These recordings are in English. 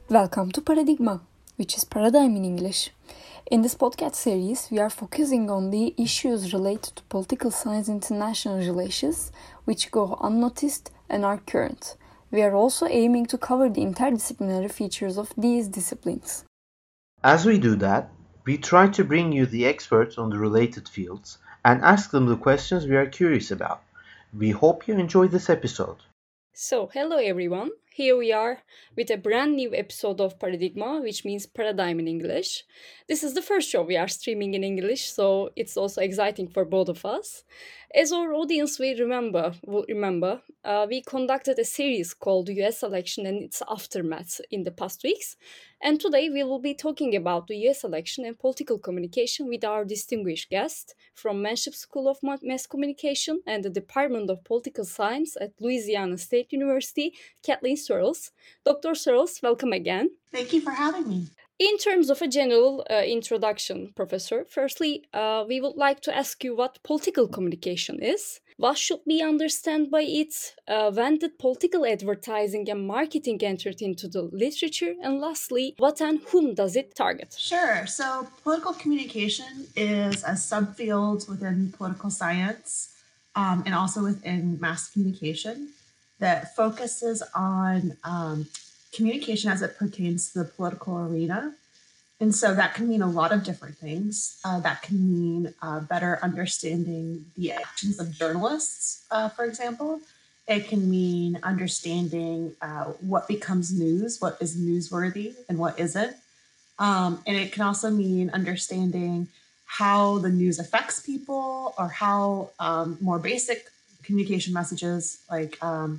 Welcome to Paradigma, which is paradigm in English. In this podcast series, we are focusing on the issues related to political science and international relations, which go unnoticed and are current. We are also aiming to cover the interdisciplinary features of these disciplines. As we do that, we try to bring you the experts on the related fields and ask them the questions we are curious about. We hope you enjoy this episode. So, hello everyone. Here we are with a brand new episode of Paradigma, which means paradigm in English. This is the first show we are streaming in English, so it's also exciting for both of us. As our audience will remember, we conducted a series called US Election and its Aftermath in the past weeks. And today we will be talking about the US election and political communication with our distinguished guest from Manship School of Mass Communication and the Department of Political Science at Louisiana State University, Kathleen Searles. Dr. Searles, welcome again. Thank you for having me. In terms of a general introduction, Professor, firstly, we would like to ask you what political communication is. What should we understand by it? When did political advertising and marketing entered into the literature? And lastly, what and whom does it target? Sure. So, political communication is a subfield within political science and also within mass communication that focuses on communication as it pertains to the political arena. And so that can mean a lot of different things. That can mean better understanding the actions of journalists, for example. It can mean understanding what becomes news, what is newsworthy and what isn't. And it can also mean understanding how the news affects people or how more basic communication messages like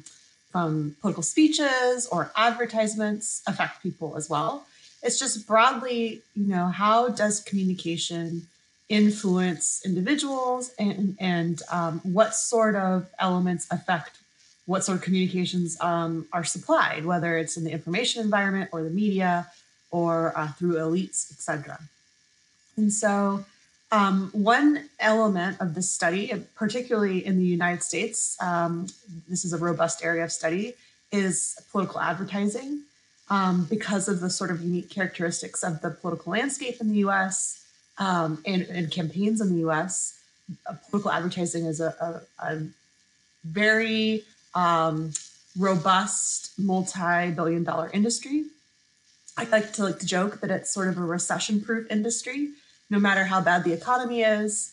from political speeches or advertisements affect people as well. It's just broadly, how does communication influence individuals and what sort of elements affect what sort of communications are supplied, whether it's in the information environment or the media or through elites, etc. And so one element of this study, particularly in the United States, this is a robust area of study, is political advertising. Because of the sort of unique characteristics of the political landscape in the US and campaigns in the US, political advertising is a very robust, multi-billion-dollar industry. I like to joke that it's sort of a recession-proof industry. No matter how bad the economy is,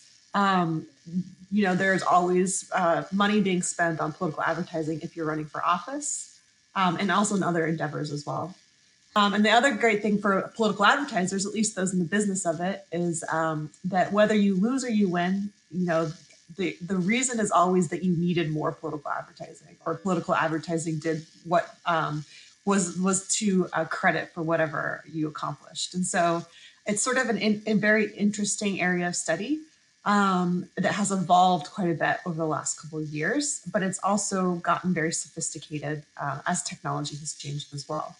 there's always money being spent on political advertising if you're running for office. And also in other endeavors as well. And the other great thing for political advertisers, at least those in the business of it, is that whether you lose or you win, the reason is always that you needed more political advertising, or political advertising did what was to credit for whatever you accomplished. And so it's sort of a very interesting area of study that has evolved quite a bit over the last couple of years, but it's also gotten very sophisticated as technology has changed as well.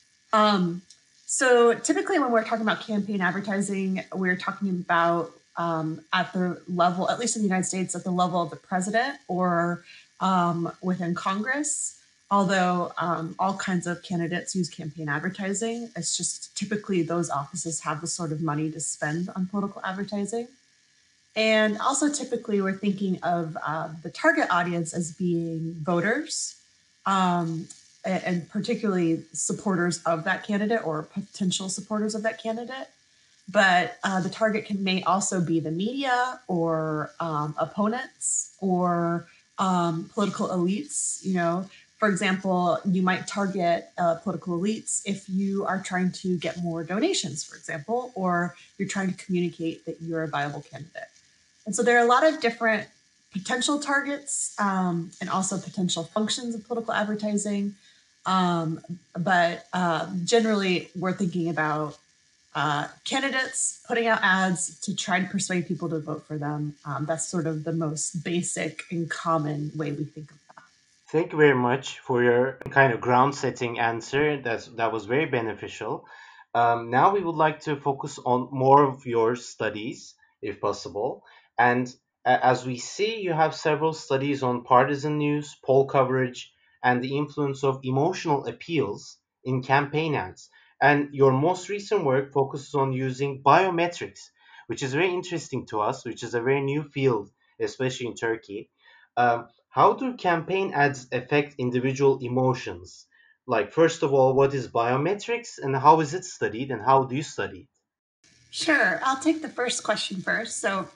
So typically when we're talking about campaign advertising, we're talking about at the level, at least in the United States, at the level of the president or within Congress. Although all kinds of candidates use campaign advertising, it's just typically those offices have the sort of money to spend on political advertising. And also typically we're thinking of the target audience as being voters and particularly supporters of that candidate or potential supporters of that candidate. But the target may also be the media or opponents or political elites. For example, you might target political elites if you are trying to get more donations, for example, or you're trying to communicate that you're a viable candidate. And so there are a lot of different potential targets and also potential functions of political advertising. But generally, we're thinking about candidates putting out ads to try to persuade people to vote for them. That's sort of the most basic and common way we think of that. Thank you very much for your kind of ground setting answer. That was very beneficial. Now we would like to focus on more of your studies, if possible. And as we see, you have several studies on partisan news, poll coverage, and the influence of emotional appeals in campaign ads. And your most recent work focuses on using biometrics, which is very interesting to us, which is a very new field, especially in Turkey. How do campaign ads affect individual emotions? Like, first of all, what is biometrics and how is it studied and how do you study it? Sure, I'll take the first question first. So,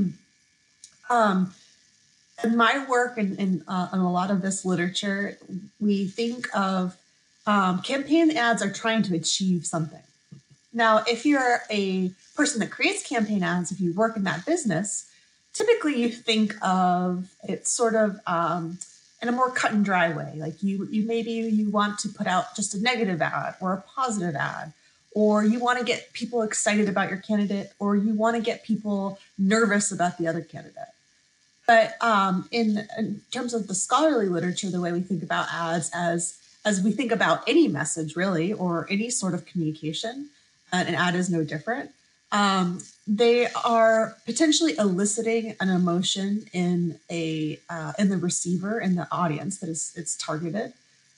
um, in my work and a lot of this literature, we think of campaign ads are trying to achieve something. Now, if you're a person that creates campaign ads, if you work in that business, typically you think of it sort of in a more cut and dry way. Like you maybe you want to put out just a negative ad or a positive ad, or you want to get people excited about your candidate, or you want to get people nervous about the other candidate. But in terms of the scholarly literature, the way we think about ads as we think about any message really, or any sort of communication, an ad is no different. They are potentially eliciting an emotion in the receiver, in the audience that is it's targeted.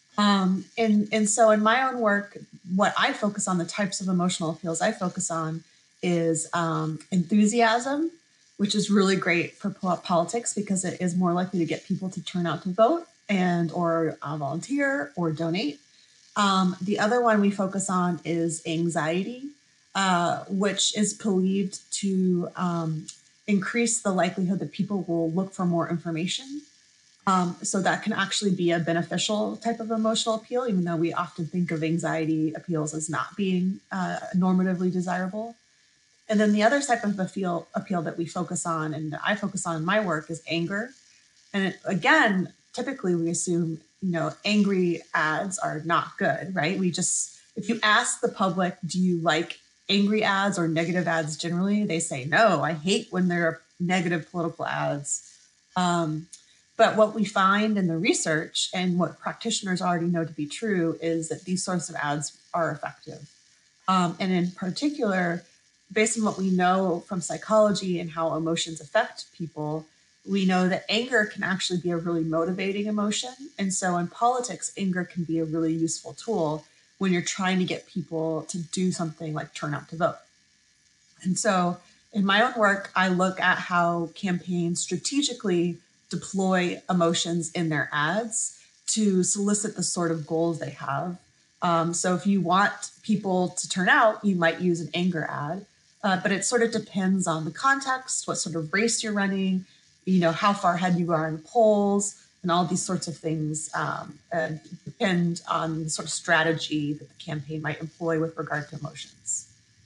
And so in my own work, what I focus on, the types of emotional appeals I focus on is enthusiasm, which is really great for politics because it is more likely to get people to turn out to vote and or volunteer or donate. The other one we focus on is anxiety, which is believed to increase the likelihood that people will look for more information. So that can actually be a beneficial type of emotional appeal, even though we often think of anxiety appeals as not being normatively desirable. And then the other type of appeal that we focus on, and that I focus on in my work, is anger. And again, typically we assume, angry ads are not good, right? If you ask the public, do you like angry ads or negative ads generally? They say, no, I hate when there are negative political ads. But what we find in the research and what practitioners already know to be true is that these sorts of ads are effective. And in particular, based on what we know from psychology and how emotions affect people, we know that anger can actually be a really motivating emotion. And so in politics, anger can be a really useful tool when you're trying to get people to do something like turn out to vote. And so in my own work, I look at how campaigns strategically deploy emotions in their ads to solicit the sort of goals they have. So if you want people to turn out, you might use an anger ad, but it sort of depends on the context, what sort of race you're running, how far ahead you are in polls, and all these sorts of things depend on the sort of strategy that the campaign might employ with regard to emotions.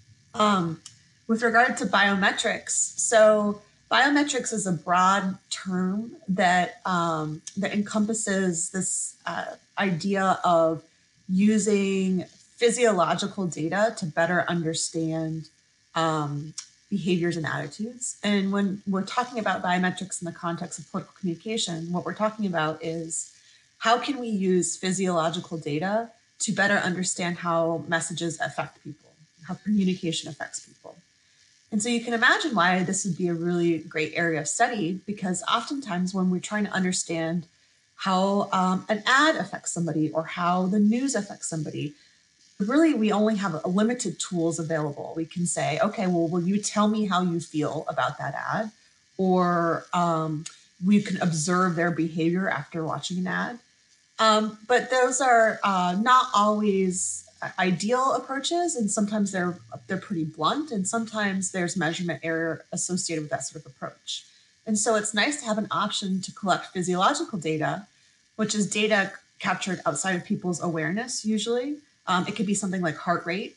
With regard to biometrics, so biometrics is a broad term that encompasses this idea of using physiological data to better understand behaviors and attitudes. And when we're talking about biometrics in the context of political communication, what we're talking about is how can we use physiological data to better understand how messages affect people, how communication affects people. And so you can imagine why this would be a really great area of study, because oftentimes when we're trying to understand how an ad affects somebody or how the news affects somebody, really we only have a limited tools available. We can say, okay, well, will you tell me how you feel about that ad? Or we can observe their behavior after watching an ad. But those are not always ideal approaches, and sometimes they're pretty blunt, and sometimes there's measurement error associated with that sort of approach. And so it's nice to have an option to collect physiological data, which is data captured outside of people's awareness usually. It could be something like heart rate,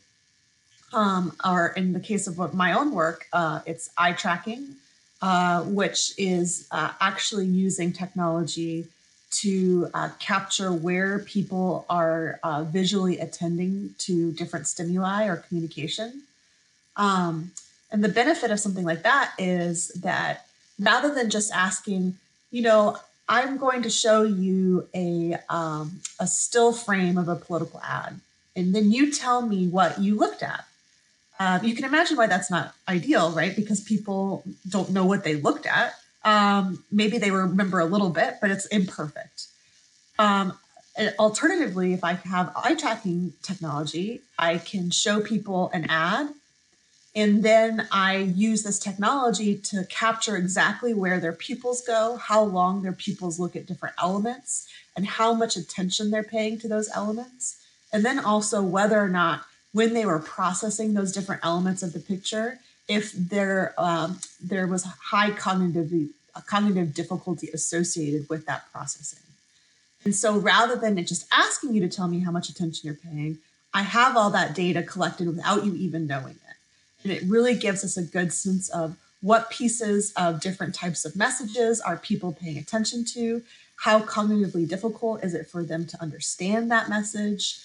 or in the case of my own work, it's eye tracking, which is actually using technology to capture where people are visually attending to different stimuli or communication. And the benefit of something like that is that rather than just asking, I'm going to show you a still frame of a political ad, and then you tell me what you looked at. You can imagine why that's not ideal, right? Because people don't know what they looked at. Maybe they remember a little bit, but it's imperfect. And alternatively, if I have eye tracking technology, I can show people an ad, and then I use this technology to capture exactly where their pupils go, how long their pupils look at different elements, and how much attention they're paying to those elements. And then also whether or not, when they were processing those different elements of the picture, if there was high cognitive difficulty associated with that processing. And so rather than it just asking you to tell me how much attention you're paying, I have all that data collected without you even knowing it. And it really gives us a good sense of what pieces of different types of messages are people paying attention to, how cognitively difficult is it for them to understand that message.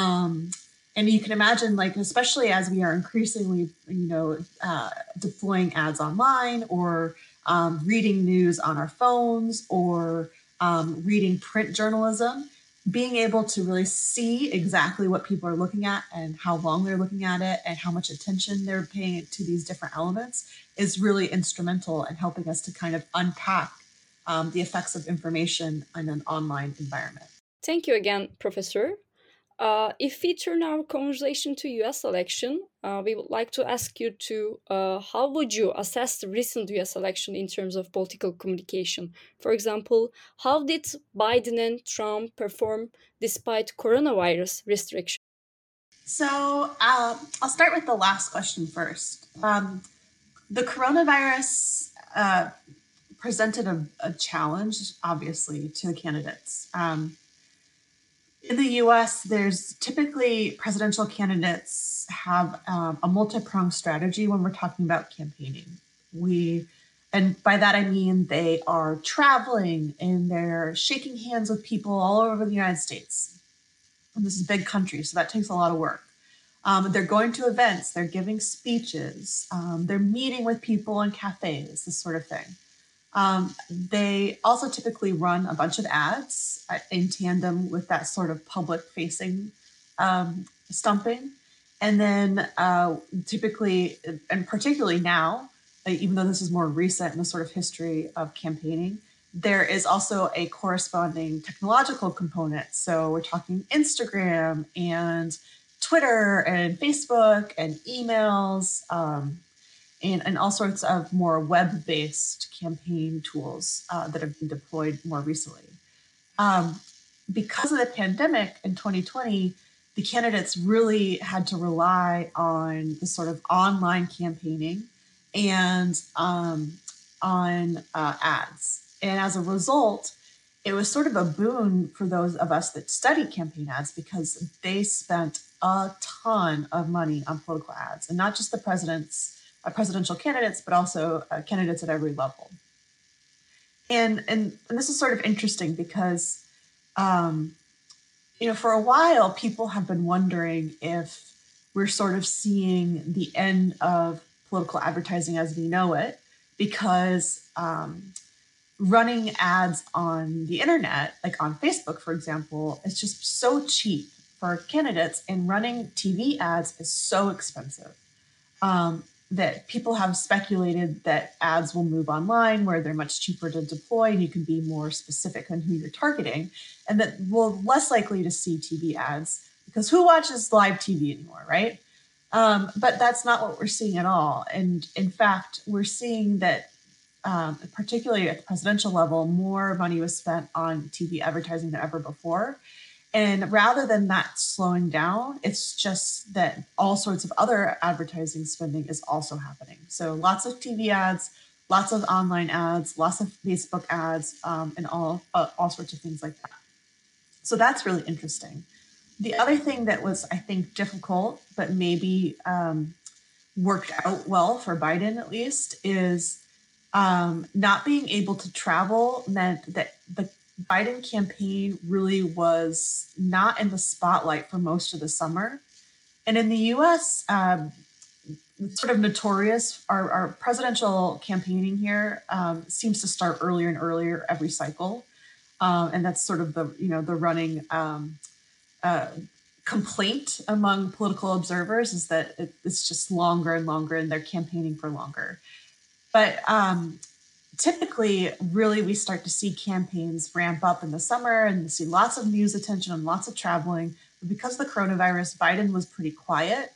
And you can imagine, like, especially as we are increasingly, deploying ads online, or reading news on our phones, or reading print journalism, being able to really see exactly what people are looking at and how long they're looking at it and how much attention they're paying to these different elements is really instrumental in helping us to kind of unpack the effects of information in an online environment. Thank you again, Professor. If we turn our conversation to US election, we would like to ask you to how would you assess the recent US election in terms of political communication? For example, how did Biden and Trump perform despite coronavirus restrictions? So I'll start with the last question first. The coronavirus presented a challenge, obviously, to the candidates. In the US, there's typically presidential candidates have a multi-pronged strategy when we're talking about campaigning. And by that I mean they are traveling and they're shaking hands with people all over the United States. And this is a big country, so that takes a lot of work. They're going to events, they're giving speeches, they're meeting with people in cafes, this sort of thing. They also typically run a bunch of ads in tandem with that sort of public-facing stumping. And then typically, and particularly now, even though this is more recent in the sort of history of campaigning, there is also a corresponding technological component. So we're talking Instagram and Twitter and Facebook and emails, and all sorts of more web-based campaign tools that have been deployed more recently. Because of the pandemic in 2020, the candidates really had to rely on the sort of online campaigning and on ads. And as a result, it was sort of a boon for those of us that study campaign ads because they spent a ton of money on political ads, and not just the presidential candidates, but also candidates at every level. And this is sort of interesting because, for a while, people have been wondering if we're sort of seeing the end of political advertising as we know it, because running ads on the internet, like on Facebook, for example, is just so cheap for candidates, and running TV ads is so expensive. That people have speculated that ads will move online where they're much cheaper to deploy and you can be more specific on who you're targeting, and that we're less likely to see TV ads because who watches live TV anymore, right? But that's not what we're seeing at all. And in fact, we're seeing that particularly at the presidential level, more money was spent on TV advertising than ever before. And rather than that slowing down, it's just that all sorts of other advertising spending is also happening. So lots of TV ads, lots of online ads, lots of Facebook ads, and all sorts of things like that. So that's really interesting. The other thing that was, I think, difficult, but maybe worked out well for Biden at least, is not being able to travel meant that the Biden campaign really was not in the spotlight for most of the summer. And in the US, it's sort of notorious, our presidential campaigning here seems to start earlier and earlier every cycle. And that's sort of the running complaint among political observers is that it's just longer and longer and they're campaigning for longer. But typically, really, we start to see campaigns ramp up in the summer and we see lots of news attention and lots of traveling. But because of the coronavirus, Biden was pretty quiet.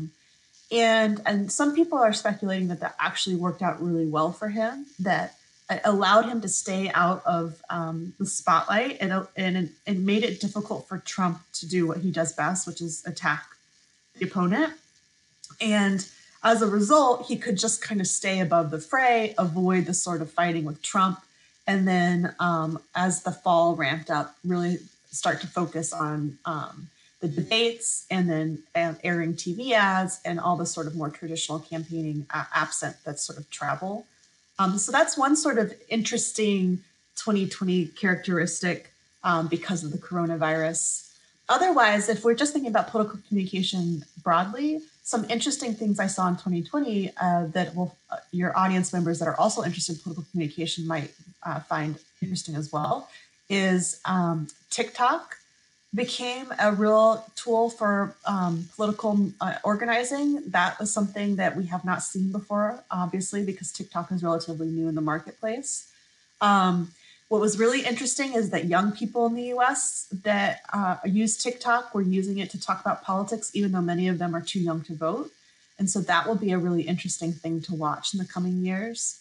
And some people are speculating that that actually worked out really well for him, that it allowed him to stay out of the spotlight, and it made it difficult for Trump to do what he does best, which is attack the opponent. And as a result, he could just kind of stay above the fray, avoid the sort of fighting with Trump. And then as the fall ramped up, really start to focus on the debates and then airing TV ads and all the sort of more traditional campaigning absent that sort of travel. So that's one sort of interesting 2020 characteristic because of the coronavirus. Otherwise, if we're just thinking about political communication broadly, some interesting things I saw in 2020 that will your audience members that are also interested in political communication might find interesting as well is TikTok became a real tool for political organizing. That was something that we have not seen before, obviously, because TikTok is relatively new in the marketplace. What was really interesting is that young people in the US that use TikTok were using it to talk about politics, even though many of them are too young to vote. And so that will be a really interesting thing to watch in the coming years.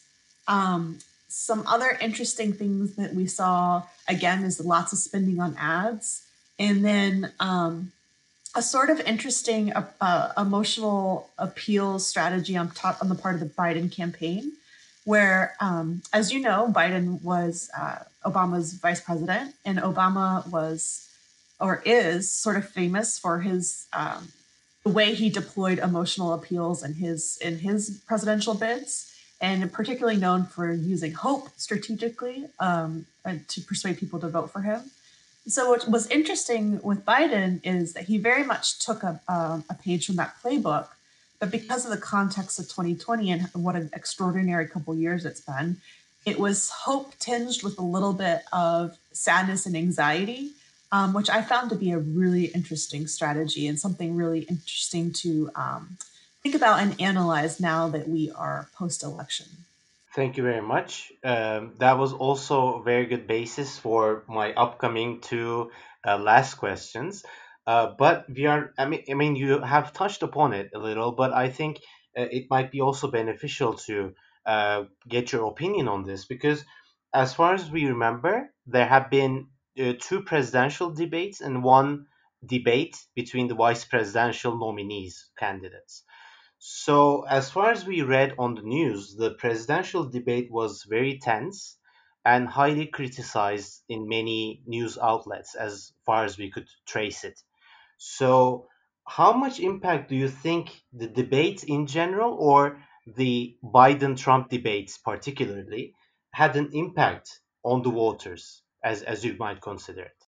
Some other interesting things that we saw, again, is lots of spending on ads. And then a sort of interesting emotional appeal strategy on the part of the Biden campaign, where, as you know, Biden was Obama's vice president, and Obama was or is sort of famous for his the way he deployed emotional appeals in his presidential bids, and particularly known for using hope strategically to persuade people to vote for him. So what was interesting with Biden is that he very much took a page from that playbook, but because of the context of 2020 and what an extraordinary couple years it's been, it was hope tinged with a little bit of sadness and anxiety, which I found to be a really interesting strategy and something really interesting to think about and analyze now that we are post-election. Thank you very much. That was also a very good basis for my upcoming two last questions. But I mean, you have touched upon it a little, but I think it might be also beneficial to get your opinion on this because, as far as we remember, there have been two presidential debates and one debate between the vice presidential nominees candidates. So, as far as we read on the news, the presidential debate was very tense and highly criticized in many news outlets as far as we could trace it. So, how much impact do you think the debate in general or the Biden Trump debates particularly had an impact on the voters, as you might consider it?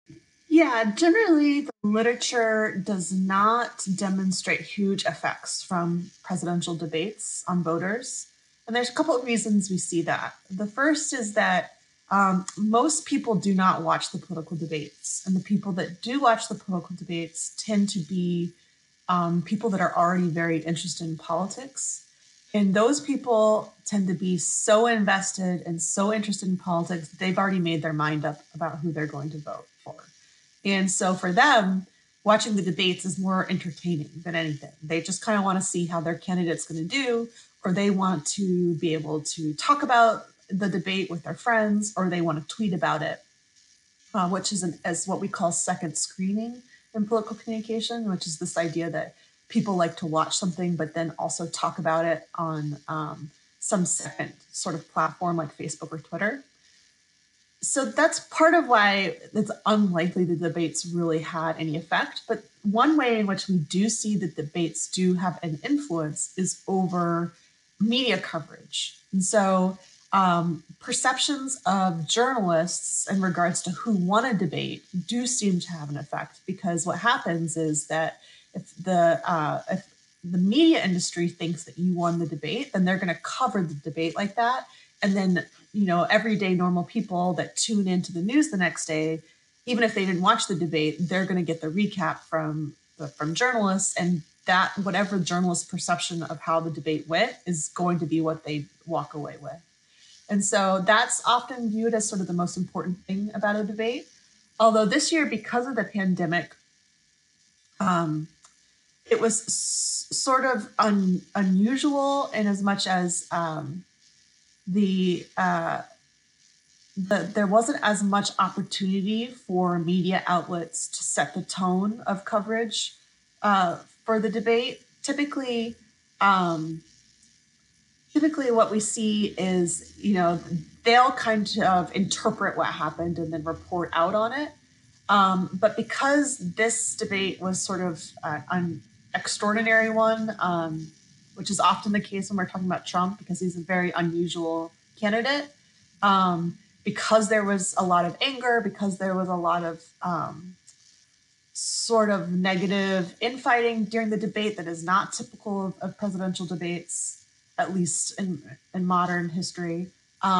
Yeah, generally, the literature does not demonstrate huge effects from presidential debates on voters. And there's a couple of reasons we see that. The first is that most people do not watch the political debates. And the people that do watch the political debates tend to be people that are already very interested in politics. And those people tend to be so invested and so interested in politics, they've already made their mind up about who they're going to vote for. And so for them, watching the debates is more entertaining than anything. They just kind of want to see how their candidate's going to do, or they want to be able to talk about the debate with their friends, or they want to tweet about it, which is as what we call second screening in political communication, which is this idea that people like to watch something, but then also talk about it on some second sort of platform like Facebook or Twitter. So that's part of why it's unlikely the debates really had any effect. But one way in which we do see that debates do have an influence is over media coverage. And so perceptions of journalists in regards to who won a debate do seem to have an effect, because what happens is that if the media industry thinks that you won the debate, then they're going to cover the debate like that. And then, everyday normal people that tune into the news the next day, even if they didn't watch the debate, they're going to get the recap from journalists, and that whatever journalist perception of how the debate went is going to be what they walk away with. And so that's often viewed as sort of the most important thing about a debate. Although this year, because of the pandemic, it was sort of unusual in as much as there wasn't as much opportunity for media outlets to set the tone of coverage for the debate. Typically what we see is, they'll kind of interpret what happened and then report out on it. But because this debate was sort of an extraordinary one, which is often the case when we're talking about Trump, because he's a very unusual candidate, because there was a lot of anger, because there was a lot of sort of negative infighting during the debate that is not typical of presidential debates, at least in modern history.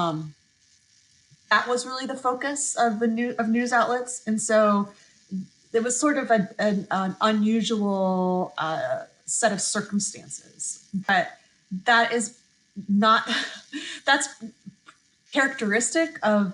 That was really the focus of news outlets, and so it was sort of an unusual set of circumstances. But that is not that's characteristic of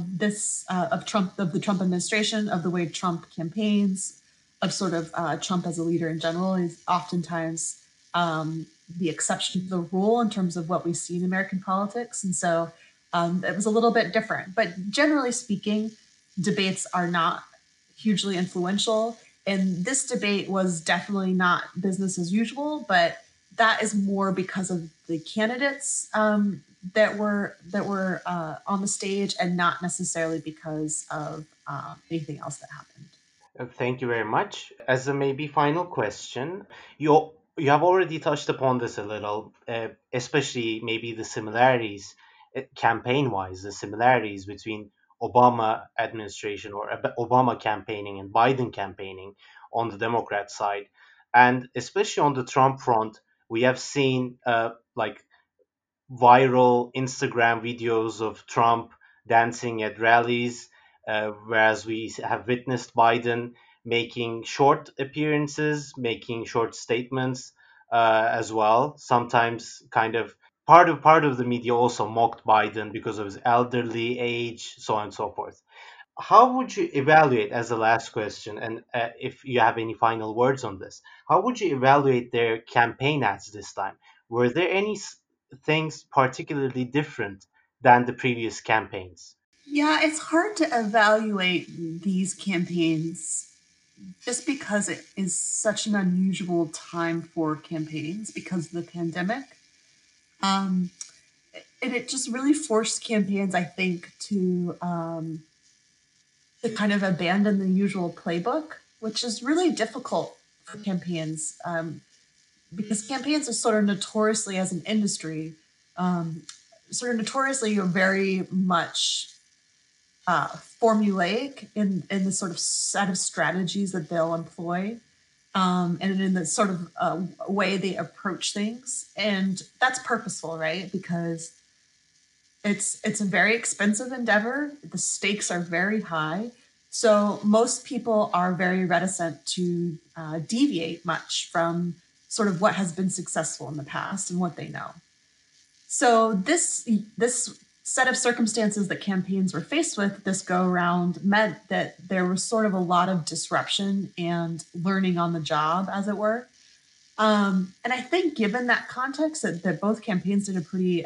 Trump, of the Trump administration, of the way Trump campaigns, of sort of Trump as a leader in general. Is oftentimes the exception to the rule in terms of what we see in American politics, and so it was a little bit different. But generally speaking, debates are not hugely influential, and this debate was definitely not business as usual. But that is more because of the candidates that were on the stage, and not necessarily because of anything else that happened. Thank you very much. As a maybe final question, you have already touched upon this a little, especially maybe the similarities, campaign-wise, the similarities between Obama administration or Obama campaigning and Biden campaigning on the Democrat side, and especially on the Trump front, we have seen like viral Instagram videos of Trump dancing at rallies, whereas we have witnessed Biden making short appearances, making short statements as well. Sometimes, kind of part of the media also mocked Biden because of his elderly age, so on and so forth. How would you evaluate, as the last question, and if you have any final words on this, how would you evaluate their campaign ads this time? Were there any things particularly different than the previous campaigns? Yeah, it's hard to evaluate these campaigns just because it is such an unusual time for campaigns because of the pandemic. And it just really forced campaigns, I think, to kind of abandon the usual playbook, which is really difficult for campaigns, because campaigns are sort of notoriously, as an industry, sort of notoriously very much formulaic in the sort of set of strategies that they'll employ, and in the sort of way they approach things. And that's purposeful, right? Because it's a very expensive endeavor. The stakes are very high. So most people are very reticent to deviate much from sort of what has been successful in the past and what they know. So this set of circumstances that campaigns were faced with this go around meant that there was sort of a lot of disruption and learning on the job, as it were. And I think given that context, that both campaigns did a pretty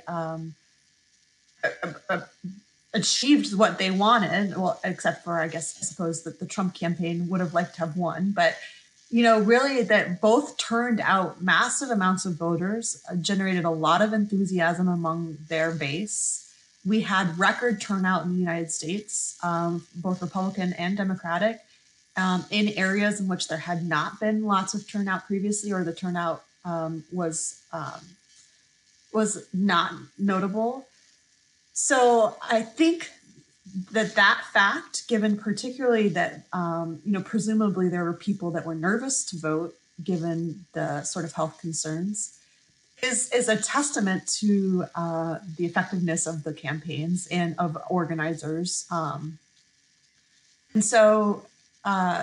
achieved what they wanted. Well, except for, I suppose that the Trump campaign would have liked to have won. But, really that both turned out massive amounts of voters, generated a lot of enthusiasm among their base. We had record turnout in the United States, both Republican and Democratic, in areas in which there had not been lots of turnout previously, or the turnout was not notable. So I think that fact, given particularly that, presumably there were people that were nervous to vote given the sort of health concerns, is a testament to the effectiveness of the campaigns and of organizers. And so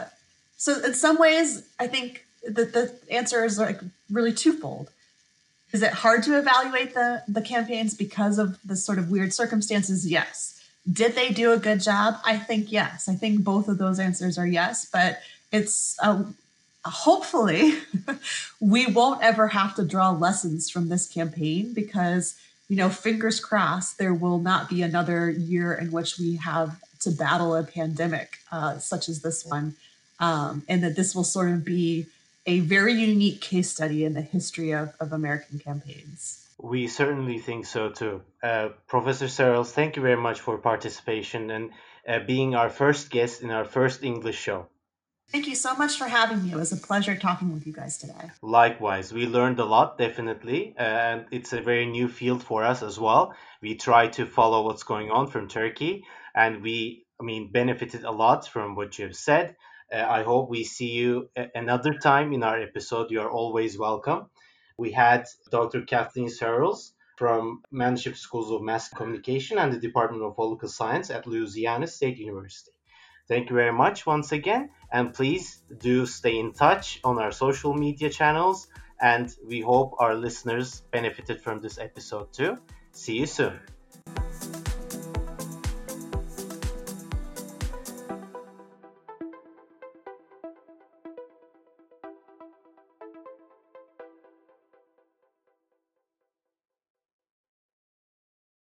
in some ways, I think that the answer is like really twofold. Is it hard to evaluate the campaigns because of the sort of weird circumstances? Yes. Did they do a good job? I think yes. I think both of those answers are yes, but it's hopefully we won't ever have to draw lessons from this campaign because, fingers crossed, there will not be another year in which we have to battle a pandemic such as this one, and that this will sort of be a very unique case study in the history of American campaigns. We certainly think so too. Professor Searles, thank you very much for participation and being our first guest in our first English show. Thank you so much for having me. It was a pleasure talking with you guys today. Likewise, we learned a lot, definitely, and it's a very new field for us as well. We try to follow what's going on from Turkey, and benefited a lot from what you have said. I hope we see you another time in our episode. You are always welcome. We had Dr. Kathleen Searles from Manship Schools of Mass Communication and the Department of Political Science at Louisiana State University. Thank you very much once again, and please do stay in touch on our social media channels, and we hope our listeners benefited from this episode too. See you soon.